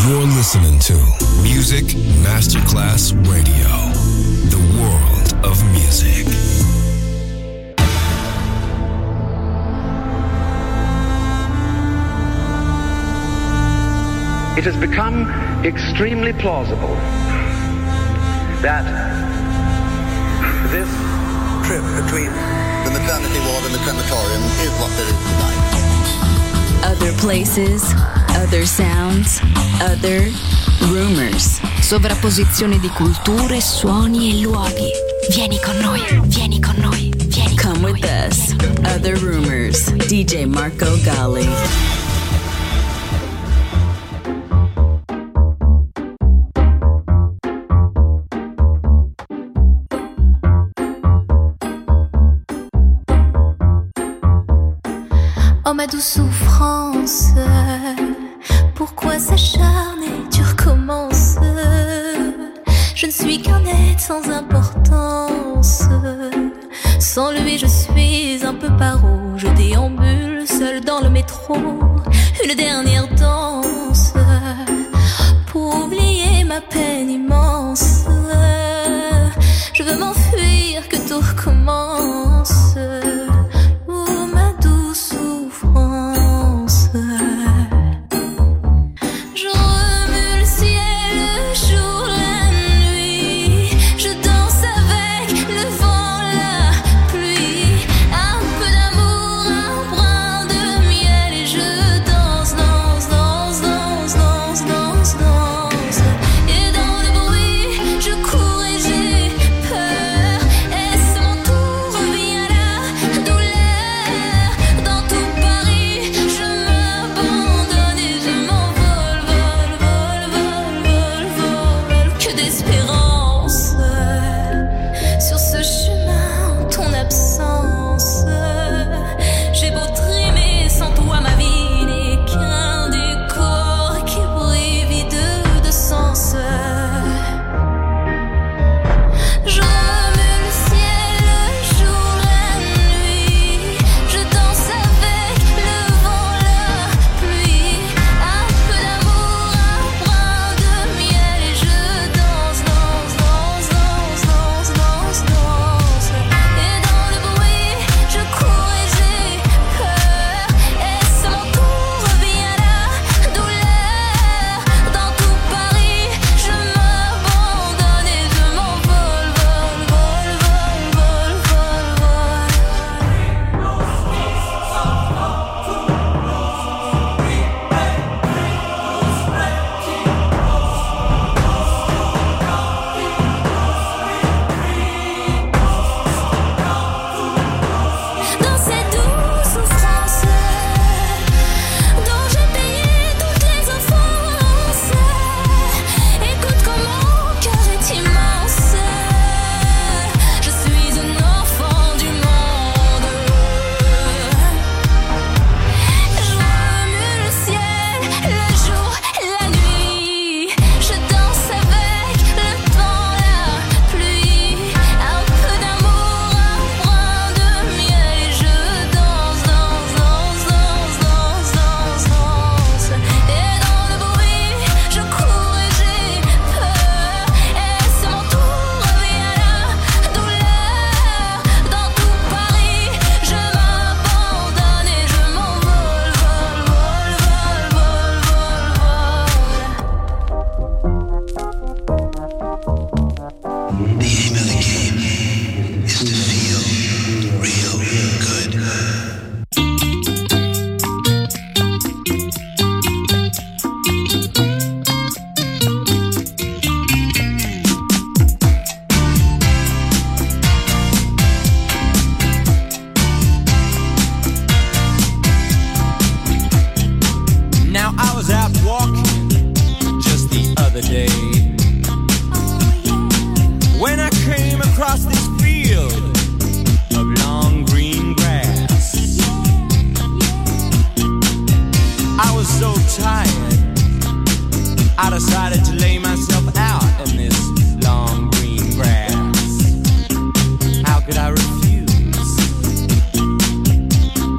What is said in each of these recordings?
You're listening to Music Masterclass Radio, the world of music. It has become extremely plausible that this trip between the maternity ward and the crematorium is what there is tonight. Other places, other sounds, other rumors. Sovrapposizione di culture, suoni e luoghi. Vieni con noi, vieni con noi, vieni con noi. Come with us. Other rumors. DJ Marco Gally. Oh ma douce souffrance, pourquoi s'acharner, tu recommences. Je ne suis qu'un être sans importance. Sans lui je suis un peu paro. Je déambule seul dans le métro. Une dernière danse pour oublier ma peine immense. Je veux m'enfuir, que tout recommence.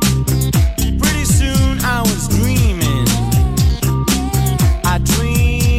Pretty soon I was dreaming. I dreamed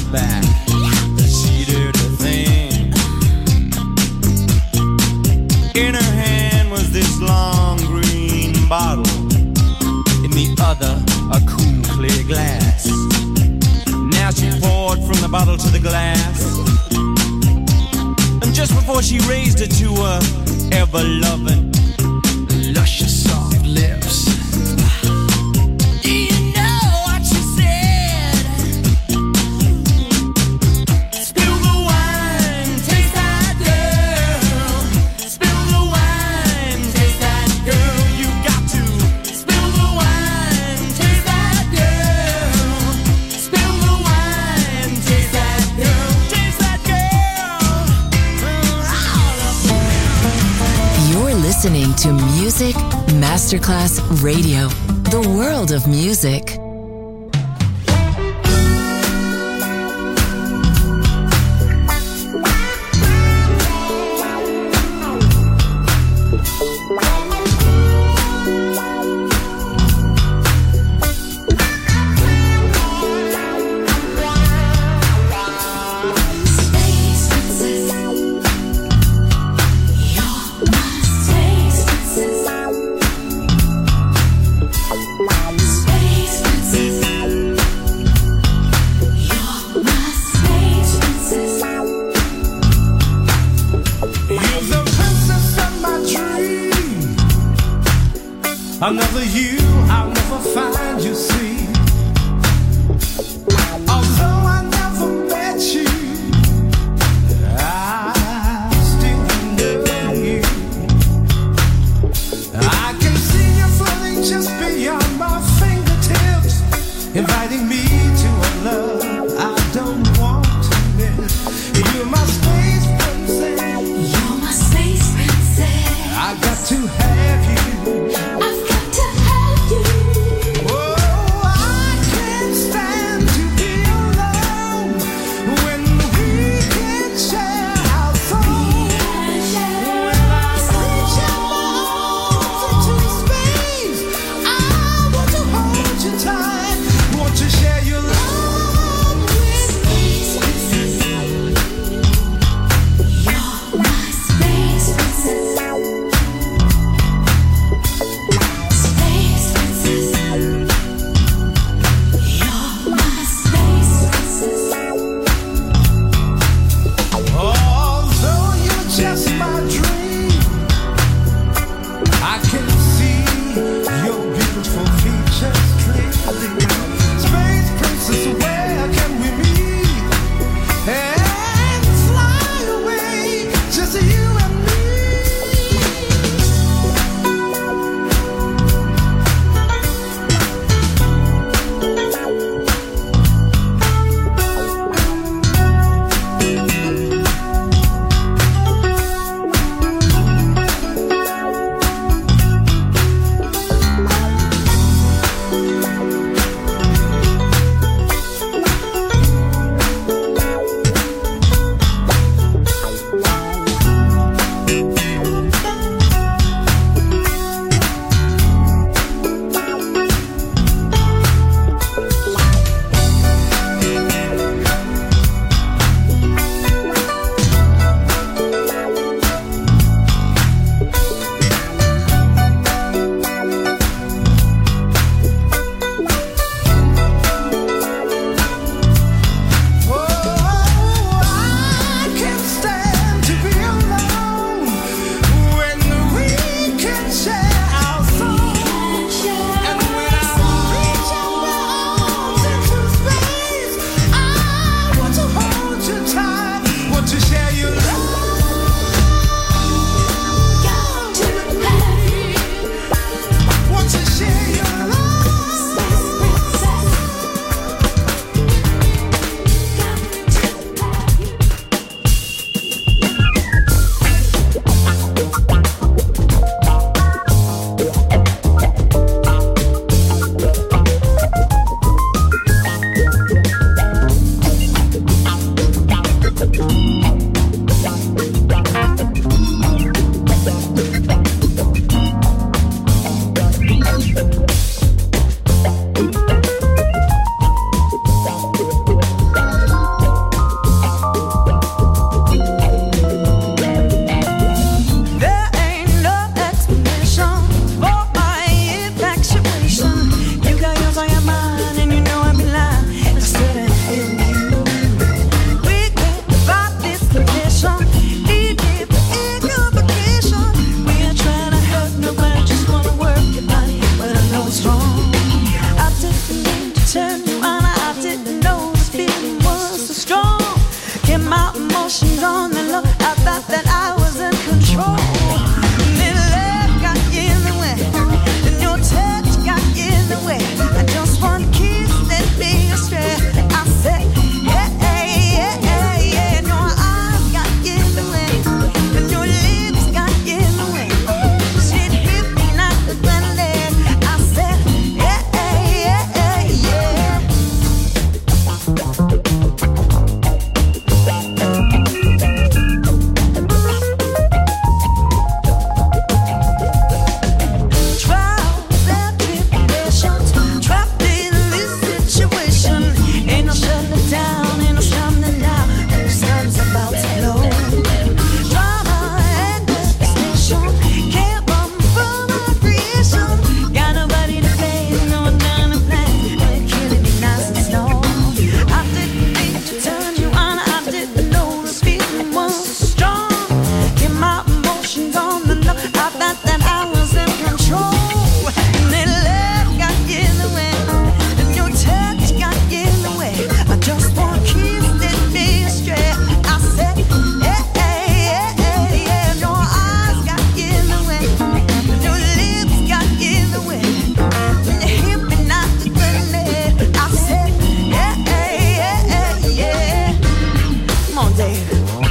back. She did her thing. In her hand was this long green bottle. In the other, a cool clear glass. Now she poured from the bottle to the glass. And just before she raised it to her ever-loving, luscious soft lips, do you know what she said? Spill the wine, taste that girl. Spill the wine, taste that girl. You got to spill the wine, taste that girl. Spill the wine, taste that girl. Taste that girl. You're listening to Music Masterclass Radio, the world of music. Another you, I'll never find, you see. Although I never met you, I still know you. I can see you floating just beyond my fingertips, inviting me to a love I don't want to miss. You're my space princess. You're my space princess. I got to have you. To share emotions on the low. I thought that I was in control. And then love got in the way, and your touch got in the way. I just want to kiss that me astray. I said, yeah, yeah, yeah, yeah. And your eyes got in the way, and your lips got in the way. She ripped me like the grenade. I said, yeah, yeah, yeah, yeah. Trials and tribulations, trapped in this situation. Ain't no shutting it down, ain't no stopping it now. The sun's about to blow. Drama and devastation can't run from my creation. Got nobody to play, no one down to play. And it's killing me nice and slow. I didn't mean to turn you on, I didn't know this feeling was so strong. Get my emotions on the low. I thought that I was in control. And then love got in the way, and your touch got in the way. I just want to kiss that me astray. I said, yeah, yeah, yeah, yeah. And your eyes got in the way, and your lips got in the way. And you hit me like the grenade. I said, yeah, yeah, yeah, yeah. Come on, Dave.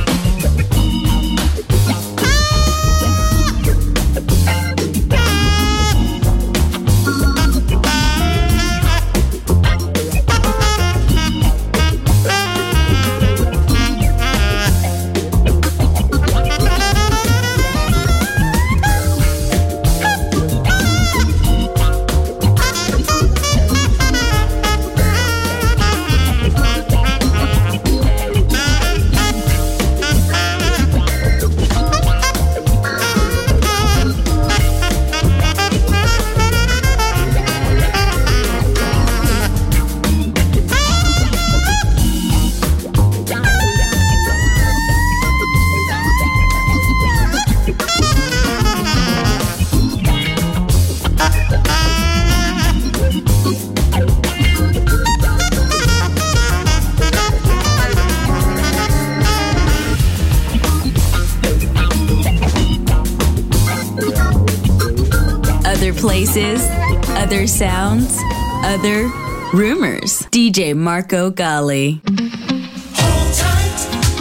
Other places, other sounds, other rumors. DJ Marco Gally. Hold tight.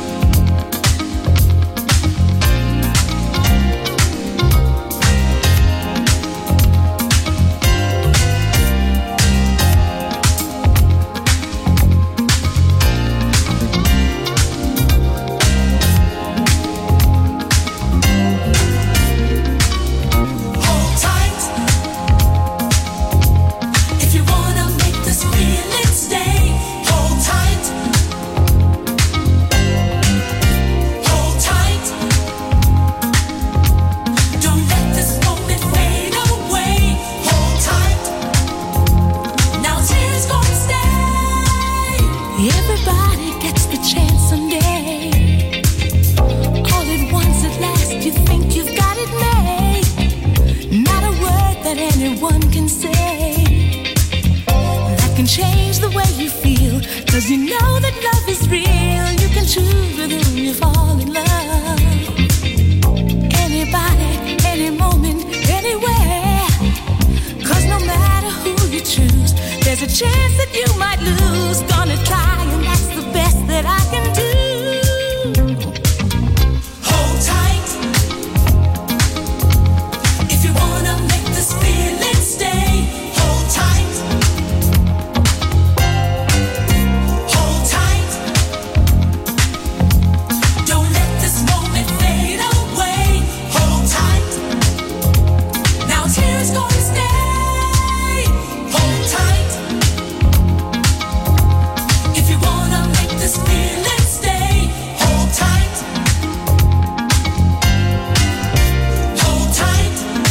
Hold tight. If you wanna make this feeling stay, hold tight. Hold tight. Don't let this moment fade away. Hold tight. Now tears gonna stay. Everybody gets the chance someday. All at once at last you think you've got it made. Not a word that anyone can say that can change the way you feel. 'Cause you know that love is real. You can choose with whom you fall in love. Anybody, any moment, anywhere. 'Cause no matter who you choose, there's a chance that you might lose. Gonna try, and that's the best that I can do. Hold tight. If you wanna make this feeling stay, hold tight. Hold tight. Don't let this moment fade away. Hold tight. Now tears gonna stay. Hold tight. If you wanna make this feeling stay, hold tight. Hold tight.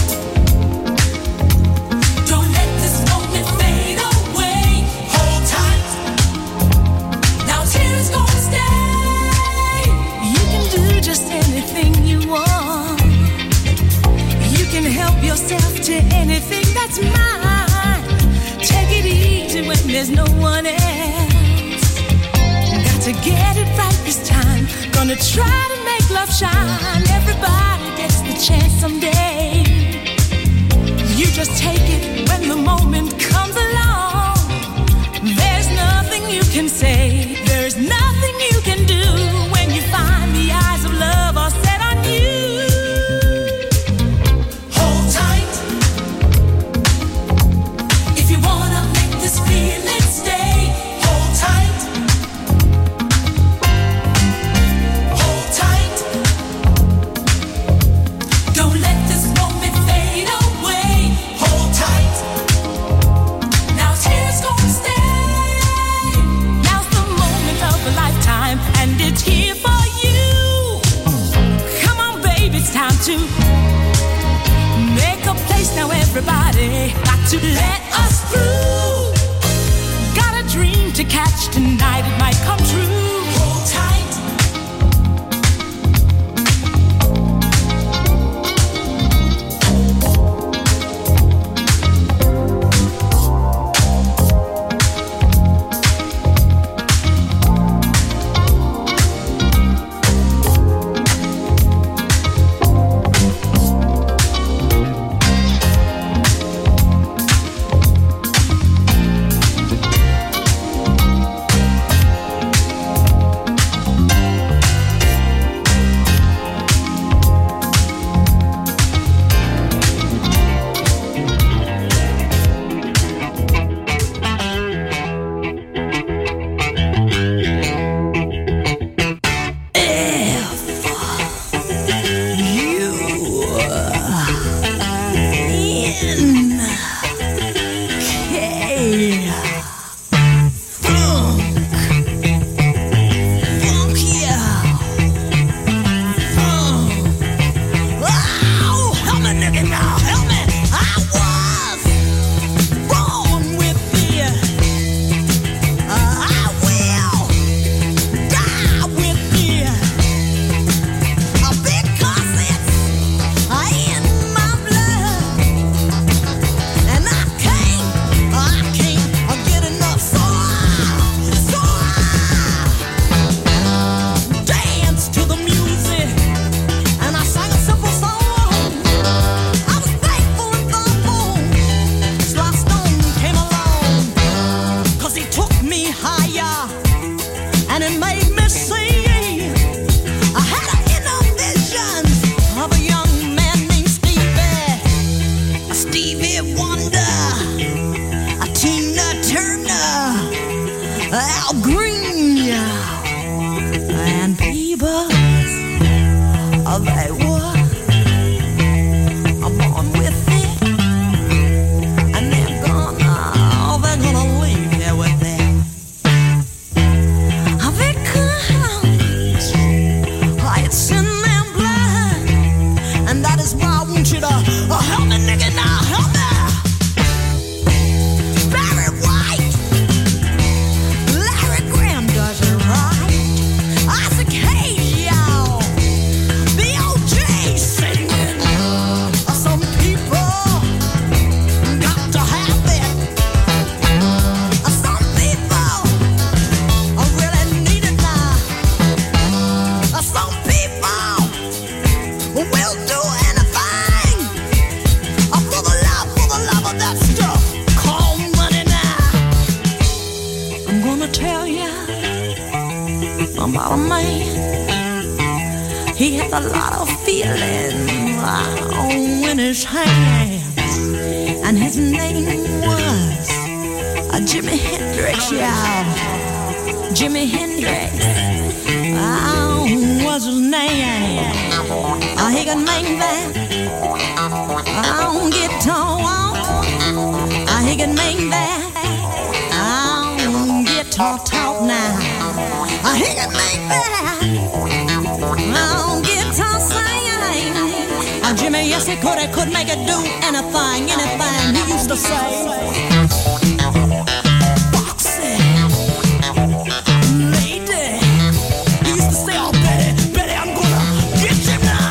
Don't let this moment fade away. Hold tight. Now tears gonna stay. You can do just anything you want. You can help yourself to anything that's mine. Take it easy when there's no one else. Got to get it right this time. Gonna try to make love shine. Everybody gets the chance someday. You just take it when the moment comes along. There's nothing you can say, there's nothing you can do when you find the eyes of love are set on you. Hold tight if you wanna make this feeling stay. Hold tight. Hold tight. Don't let this moment fade away. Hold tight. Now tears gonna stay. Now's the moment of a lifetime, and it's here for you. Come on, baby, it's time to make a place now. Everybody got to let us through. Got a dream to catch tonight, it might come true. Hold tight. Jimmy, yes, he could make it do anything, he used to say. Foxy, lady, he used to say, oh, Betty, I'm gonna get you now.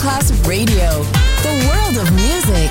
Masterclass Radio, the world of music.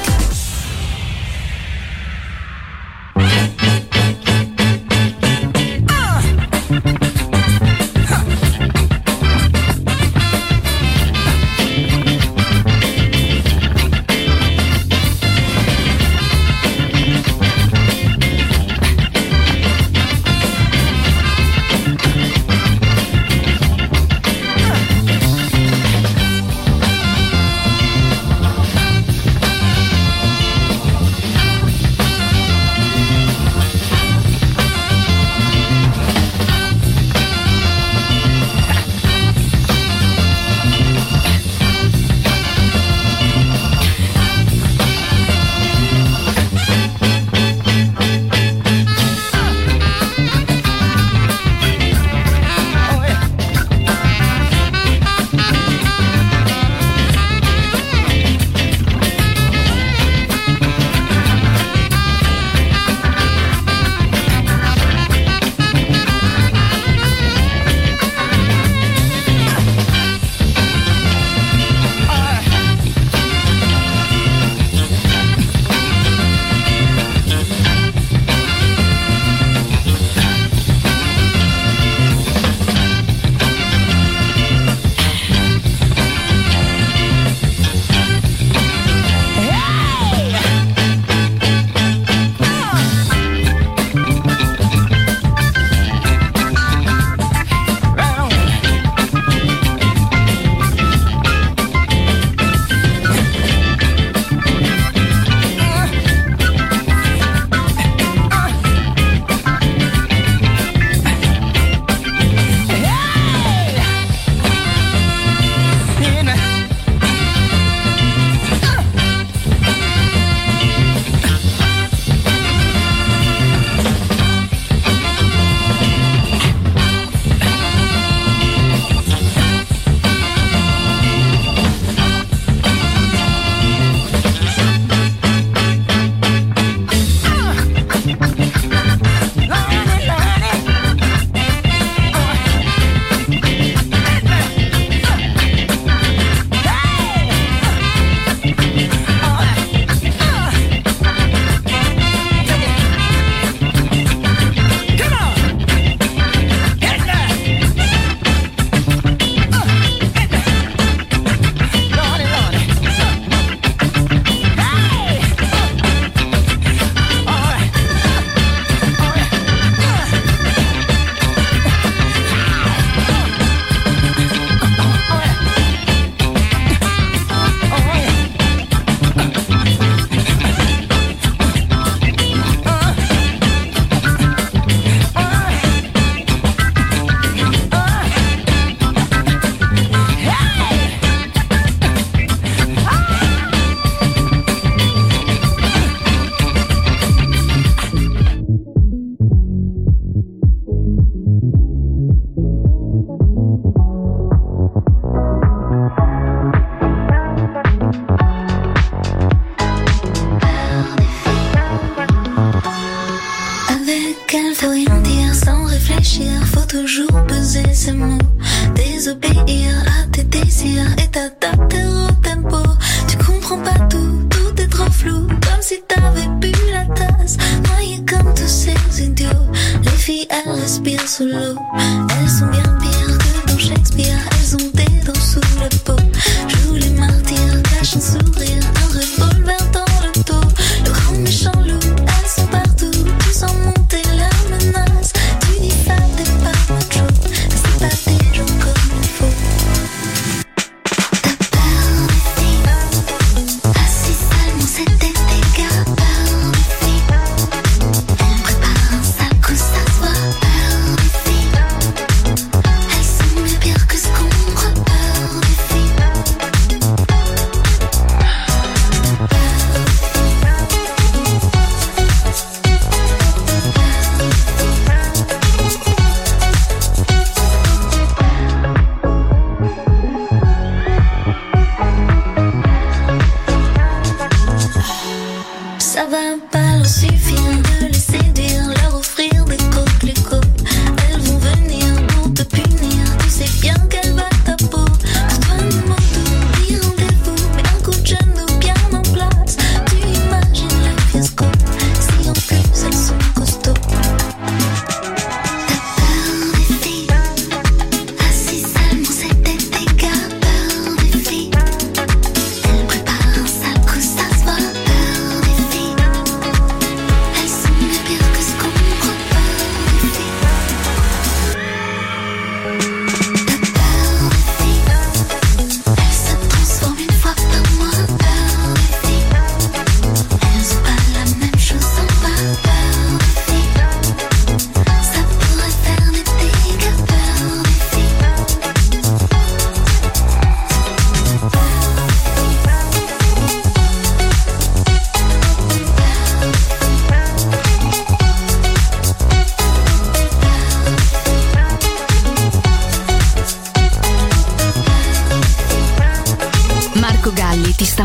Pour toi, ne m'en dis rendez-vous.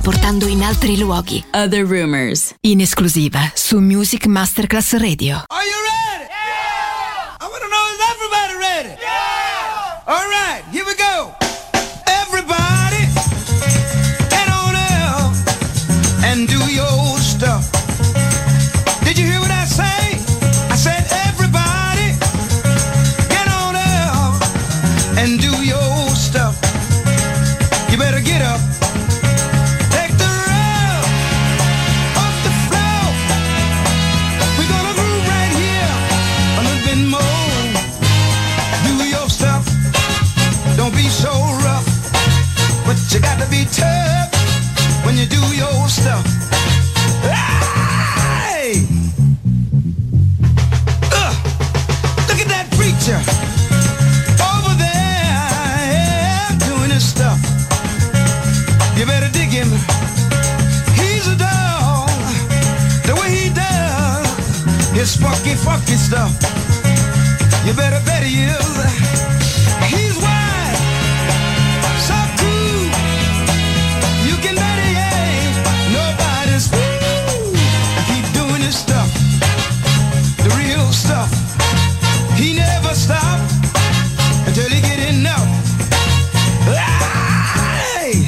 portando in altri luoghi. Other Rumors, in esclusiva su Music Masterclass Radio. Are you ready? Yeah! I want to know, is everybody ready? Yeah! All right, here we go. Everybody, get on up and do your stuff. Did you hear what I say? I said everybody, get on up and do your stuff. You better get up. Take the rub off the floor. We're gonna groove right here a little bit more. Do your stuff. Don't be so rough, but you got to be tough when you do your stuff. Hey! Look at that preacher over there doing his stuff. You better dig him. He's a dog. The way he does his funky stuff. You better bet he is. He's wide, soft too. You can bet he ain't nobody's fool. Keep doing his stuff, the real stuff. He never stop until he get enough. Hey!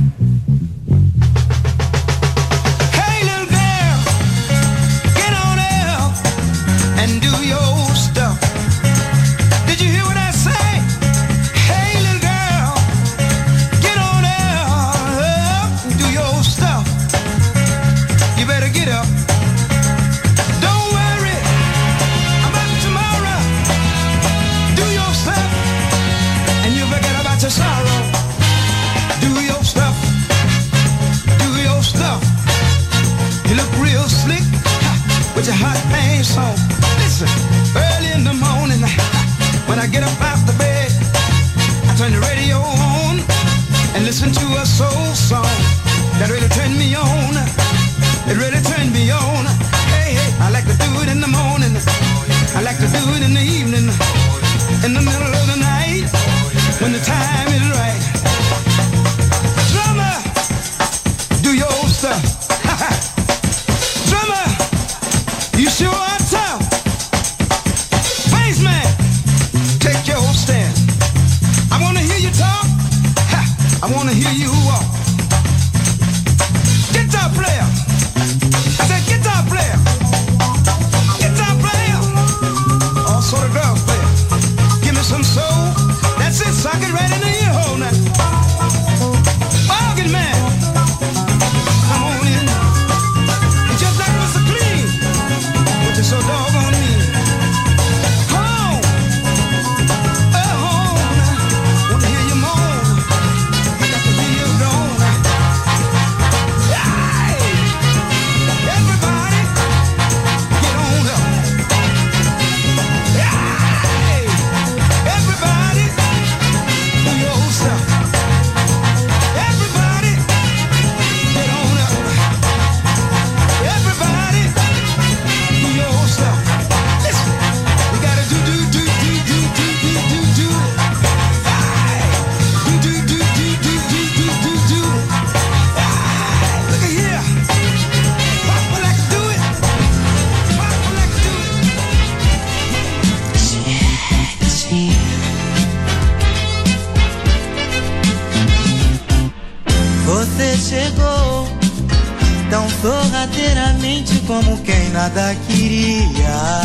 Hey, little girl, get on up and do your stuff. Did you hear what I say? Hey, little girl, get on up and do your stuff. You better get up. Don't worry about tomorrow. Do your stuff and you forget about your sorrow. Do your stuff. Do your stuff. You look real slick with your hot pants on. Listen, early in the morning when I get up out the bed, I turn the radio on and listen to a soul song that really turned me on. It really turned me on. Hey, hey, I like to do it in the morning. I like to do it in the evening. In the middle of the night when the time is right. Drummer, do your stuff. Drummer, you sure are tough. Bassman, take your stand. I wanna hear you talk. I wanna hear you walk. Guitar player, I said guitar player. Guitar player, all sort of girl player. Give me some soul. That's it, sock it right in the ear hole now. Organ man, come on in. You're just like Mr. Clean, but you're so doggone mean. Home, home, wanna hear you moan. I got to hear you groan. Hey, everybody, get on up. Hey, everybody, do your stuff. Everybody, get on up. Everybody, do your stuff. Listen, you gotta do. Hey, do. Hey, look at here. Papa like to do it. Papa like to do it. Você chegou tão sorrateiramente como quem nada queria.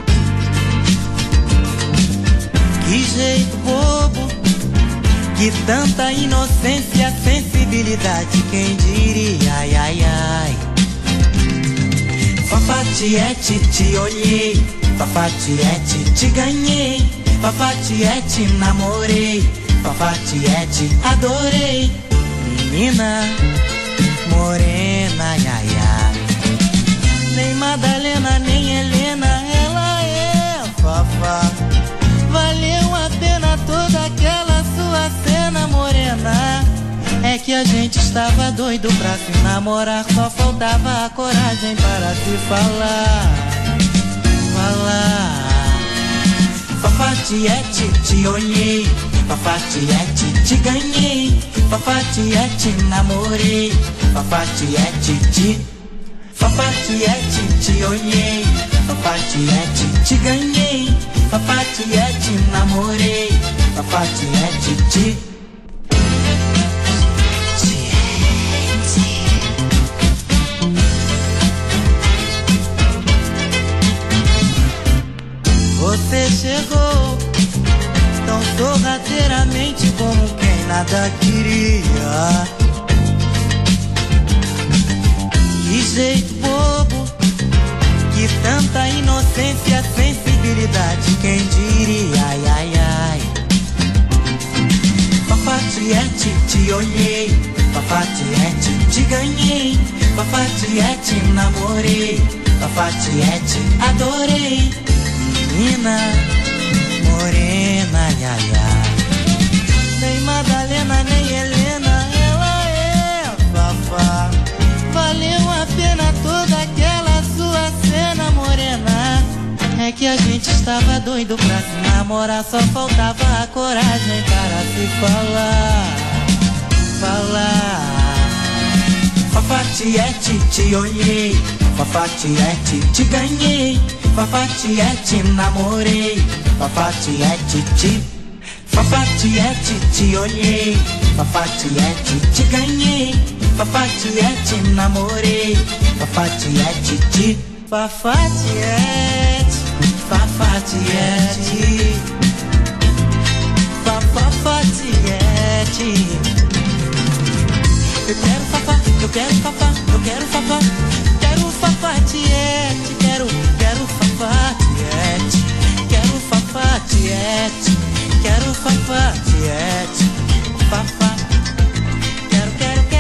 Que jeito bobo, que tanta inocência, sensibilidade, quem diria, ai, ai, ai. Fafatiete, te olhei, Fafatiete, te ganhei, Fafatiete, namorei, Fafatiete, adorei. Menina morena, ai, ai. Nem Madalena, nem Helena, ela é Fafá. Valeu a pena toda aquela sua cena morena. É que a gente estava doido pra se namorar, só faltava a coragem para se falar. Fafá Fafatiete, te olhei. Fafatiete, te ganhei. Fafatiete, namorei. Fafatiete, te. Fafatiete, te olhei. Fafatiete, te ganhei. Fafatiete, namorei. Fafatiete, te. Você chegou tão sorrateiramente como quem nada queria. Que jeito bobo, que tanta inocência, sensibilidade, quem diria, ai, ai, ai. Fafatiete, te olhei. Fafatiete, te ganhei. Fafatiete, namorei. Fafatiete, adorei. Menina morena, ia, ia. Nem Madalena, nem Helena, ela é Fafá. Valeu a pena toda aquela sua cena morena. É que a gente estava doido pra se namorar, só faltava a coragem para se falar. Falar. Fafatiete, te olhei. Fafatiete, te ganhei. Fafatiete, namorei. Fafatiete, te. Fafatiete, te olhei. Fafatiete, te ganhei. Fafatiete, namorei. Fafatiete, te. Fafatiete, Fafatiete, Fafatiete. Eu quero Fafá, eu quero Fafá, eu quero Fafá. Quero Fafatiete, quero Fafatiete. Quero Fafatiete, quero Fafatiete. Fafá. Quero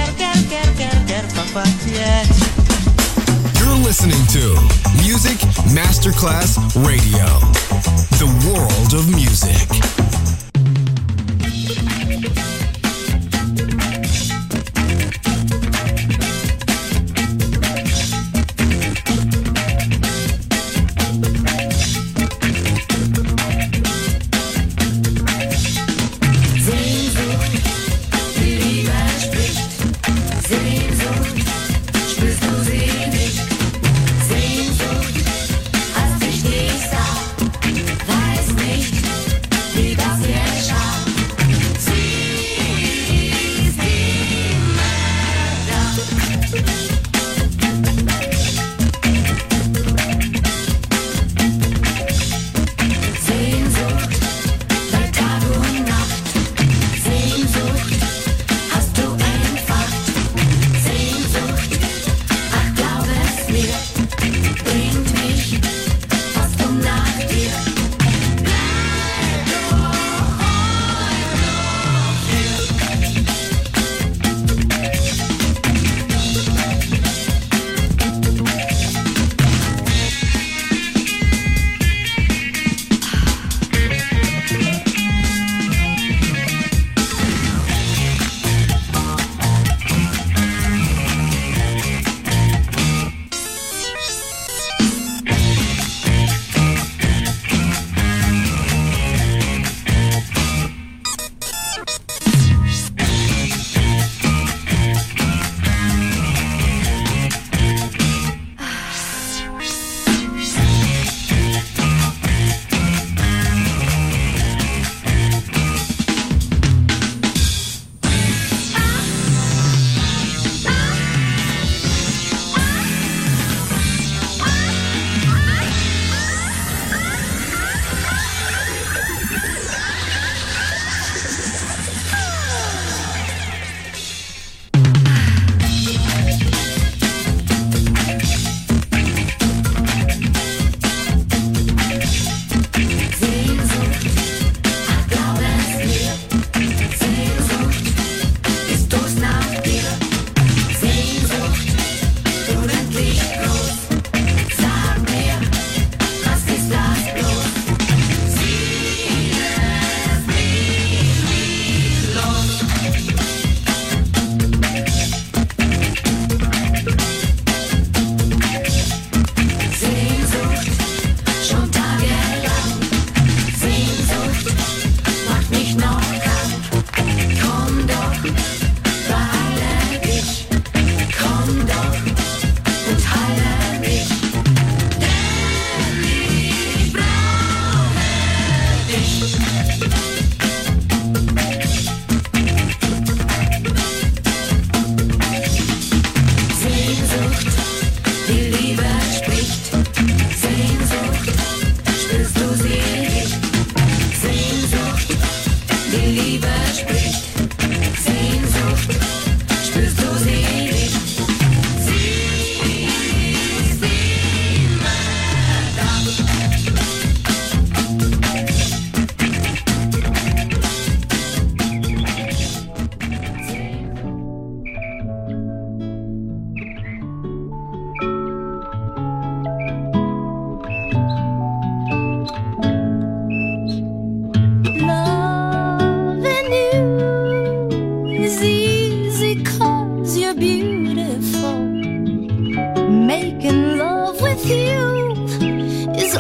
Fafatiete. You're listening to Music Masterclass Radio, the world of music. Weiß nicht, wie das geschah.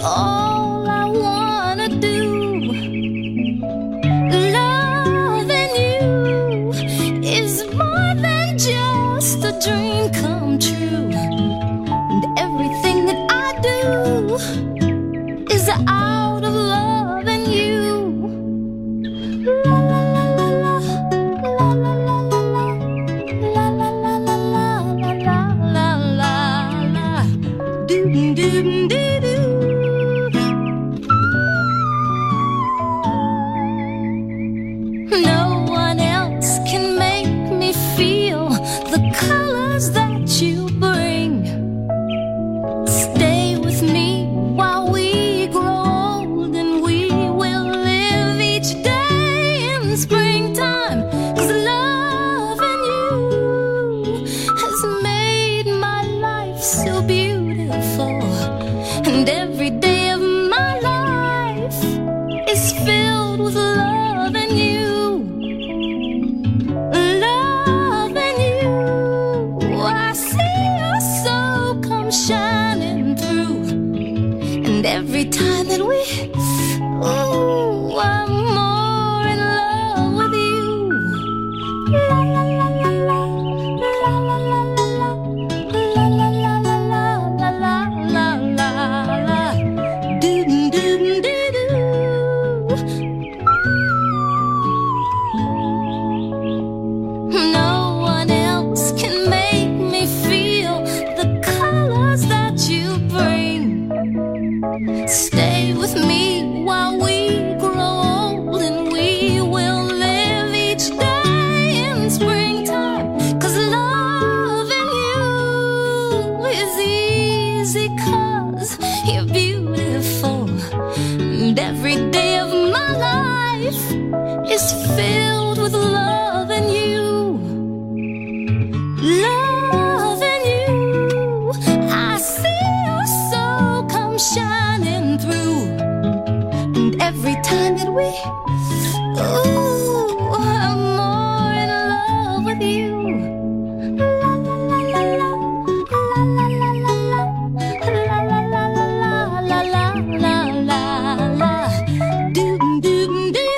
all I wanna do. Loving you is more than just a dream come true. And everything that I do is out of loving you. La la la la la, la la la la la, la la la la la la la la, doo doo doo doo. No one else can make me feel the colors that you bring. Stay with me while we grow old, and we will live each day in springtime. 'Cause loving you has made my life so beautiful, and every day of my life is filled with loving you. Loving you, I see your soul come shining through, and every time that we, ooh, I'm more in love with you. La la la la la, la la la la la, la la la la la la la la la, doo doo doo doo. No one else can make me feel the colors that you bring. Stay with me while we grow old, and we will live each day in springtime. 'Cause loving you is easy, 'cause you're beautiful, and every day of my life is filled with loving you. Loving you, I see your soul come shining through, and every time that we, ooh, I'm more in love with you. La la la la la, la la la la la, la la la la la la la la la, doo doo doo doo.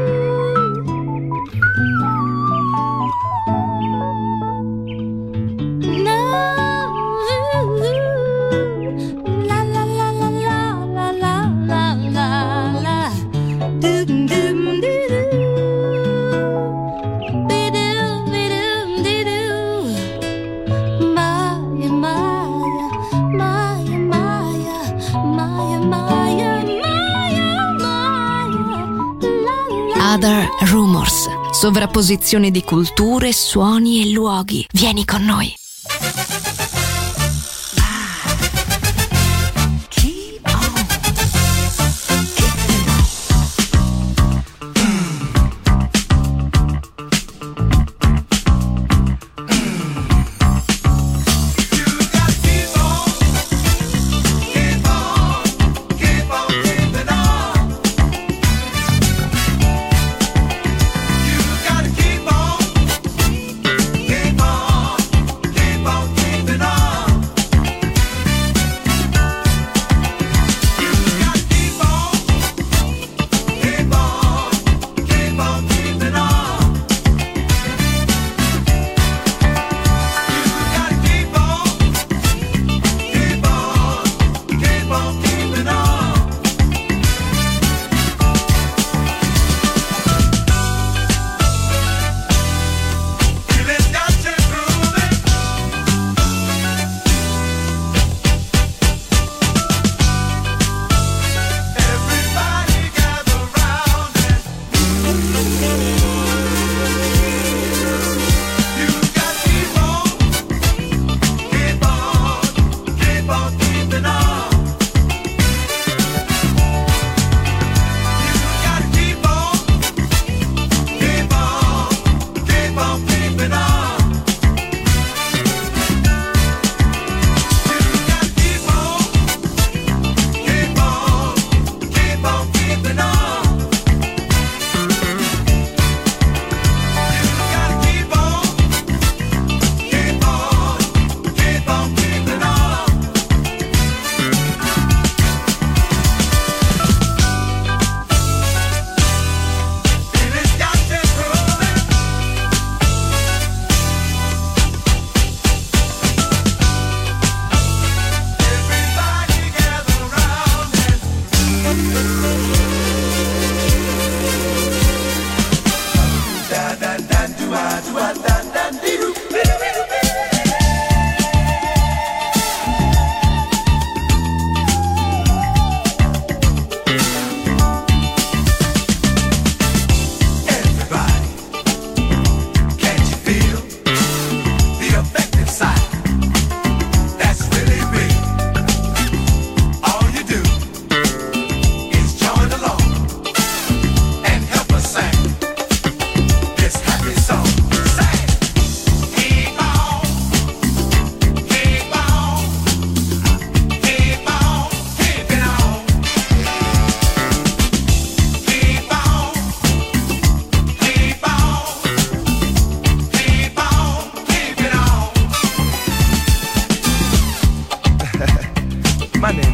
Other Rumors, sovrapposizione di culture, suoni e luoghi. Vieni con noi. Keep on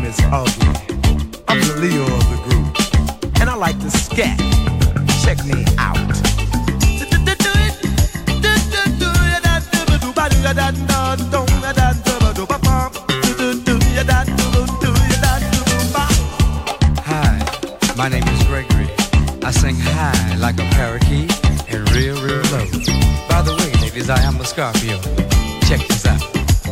is Ugly. I'm the Leo of the group, and I like to scat. Check me out. Hi, my name is Gregory. I sing high like a parakeet and real low. By the way, ladies, I am a Scorpio. Check this out.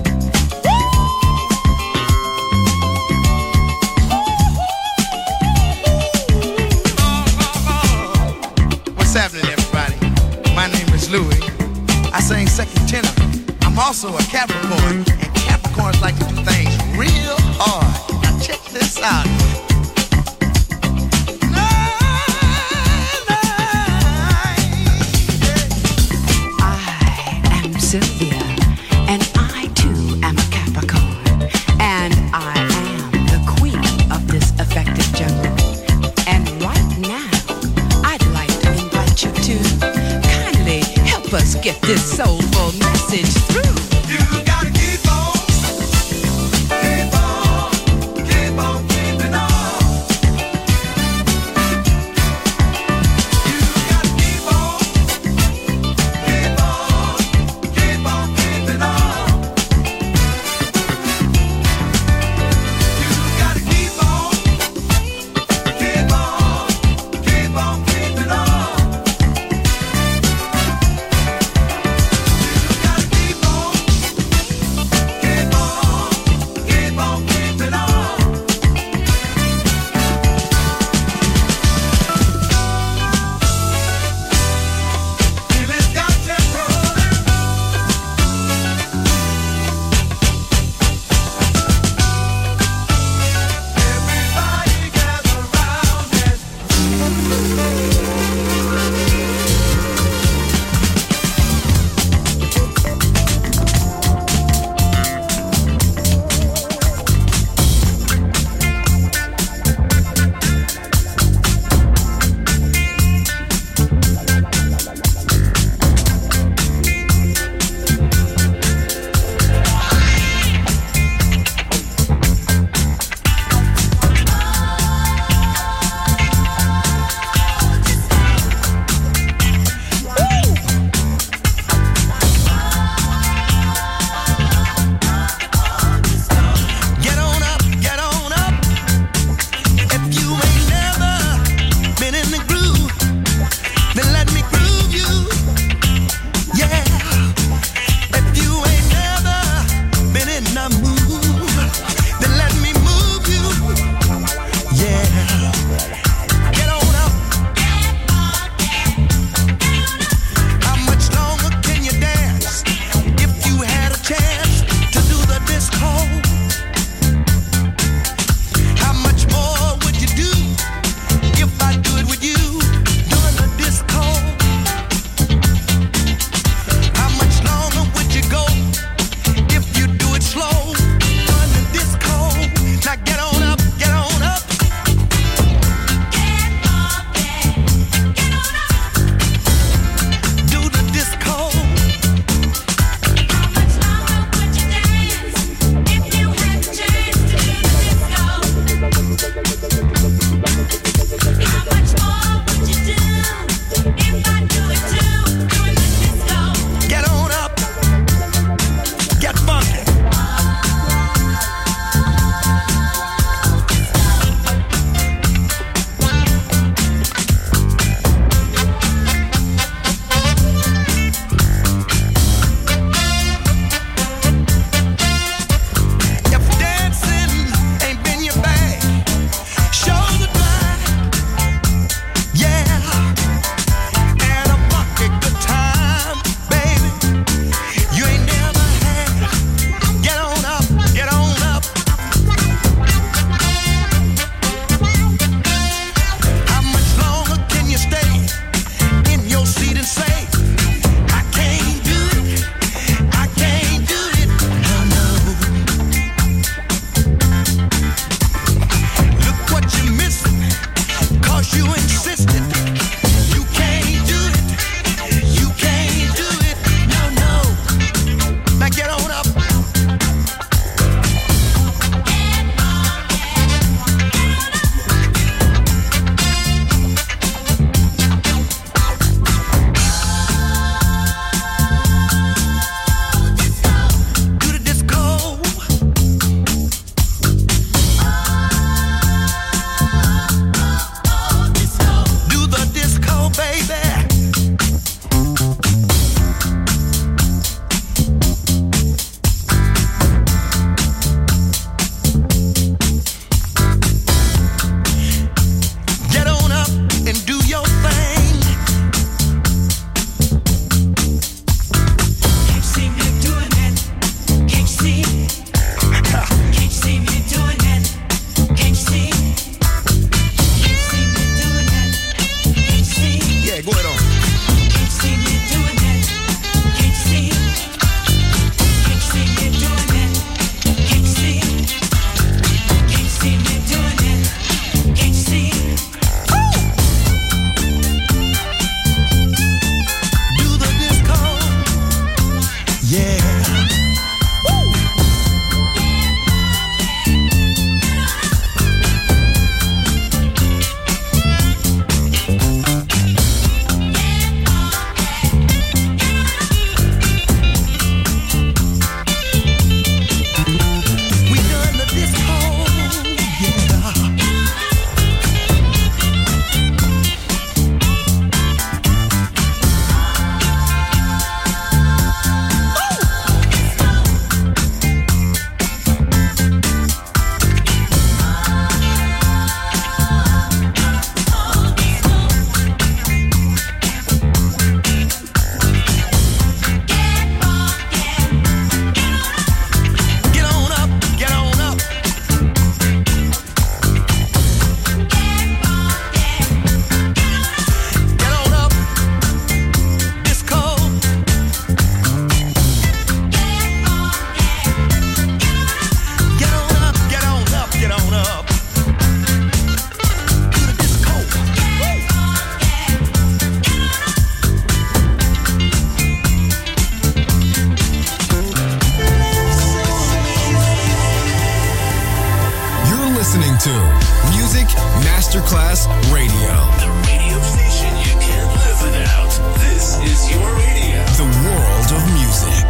What's happening, everybody? My name is Louis. I sing second tenor. I'm also a Capricorn, and Capricorns like to do things real hard. Now check this out. I am Sylvia, and I too am a Capricorn, and I am the queen of this effective jungle. And right now, I'd like to invite you to kindly help us get this soulful message through. You gotta keep on, keep on, keep on keeping on. You gotta keep on, keep on, keep on keeping on. You gotta keep on, keep on, keep on keeping on. You gotta keep on. listening to Music Masterclass Radio. The radio station you can't live without. This is your radio. The world of music.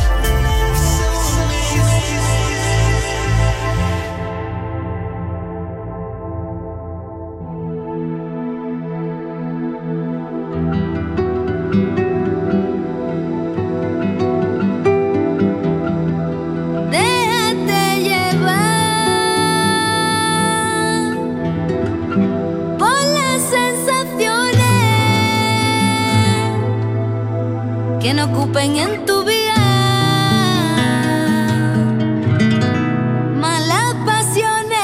Que no ocupen en tu vida malas pasiones.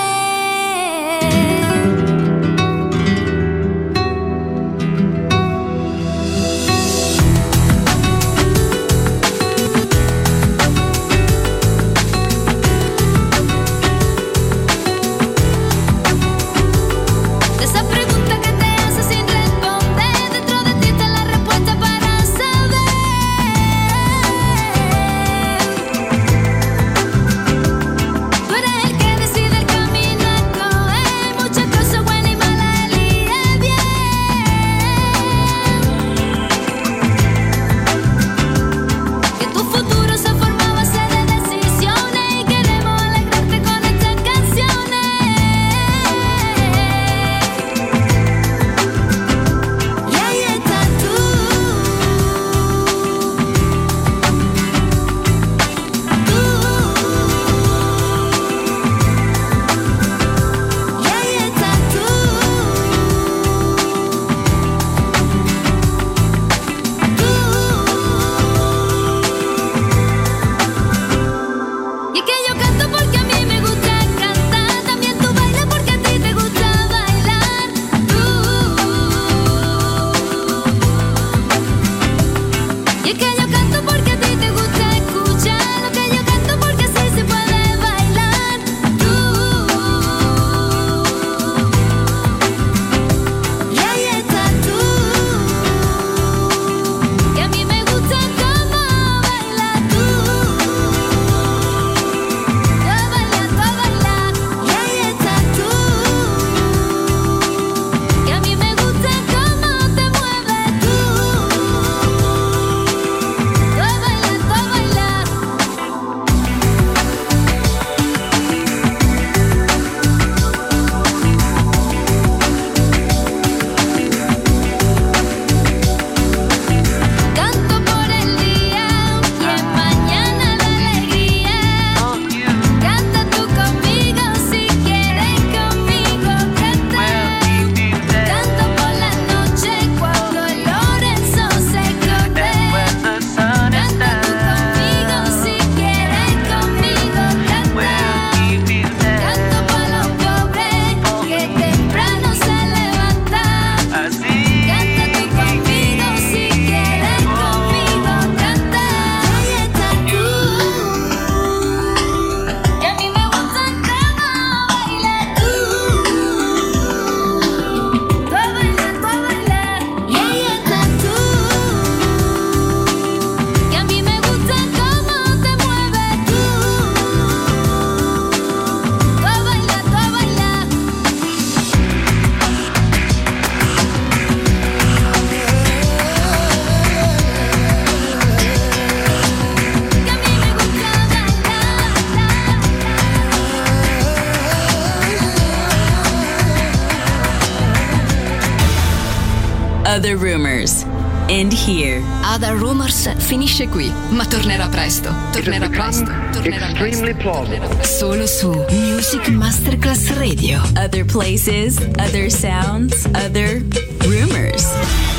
De esa pregunta que te haces sin responder, dentro de ti está la respuesta para saber. Tú eres el que decide el camino a escoger, muchas cosas buenas y malas elige bien. Que tu futuro se forma a base de decisiones y queremos alegrarte con estas canciones. Y ahí estás tú. Y ahí estás tú. Y es que yo canto porque a mí me gusta cantar, también tú bailas porque a ti te gusta bailar. Y es que yo canto porque a ti te gusta escuchar lo que yo canto, porque así se puede bailar. Y ahí estás tú. Que a mí me gusta cómo bailas tú. Tú bailas. Y ahí estás tú. Que a mí me gusta cómo te mueves tú. Tú bailas. Canto por el día y es mañana la alegría. Canta tú conmigo si quieres conmigo cantar. Canto por la noche cuando el Lorenzo se corre. Canta tú conmigo si quieres conmigo cantar. Canto por los pobres que temprano se levantan. Canta tú conmigo si quieres conmigo cantar. Ahí estás tú. Y a mí me gusta cómo bailas tú. Tú bailas. Y ahí estás tú. Y a mí me gusta cómo te mueves tú. Tú bailas. Other Rumors. End here. Other Rumors finisce qui, ma tornerà presto. Extremely plausible. Solo su Music Masterclass Radio. Other places, other sounds, other rumors.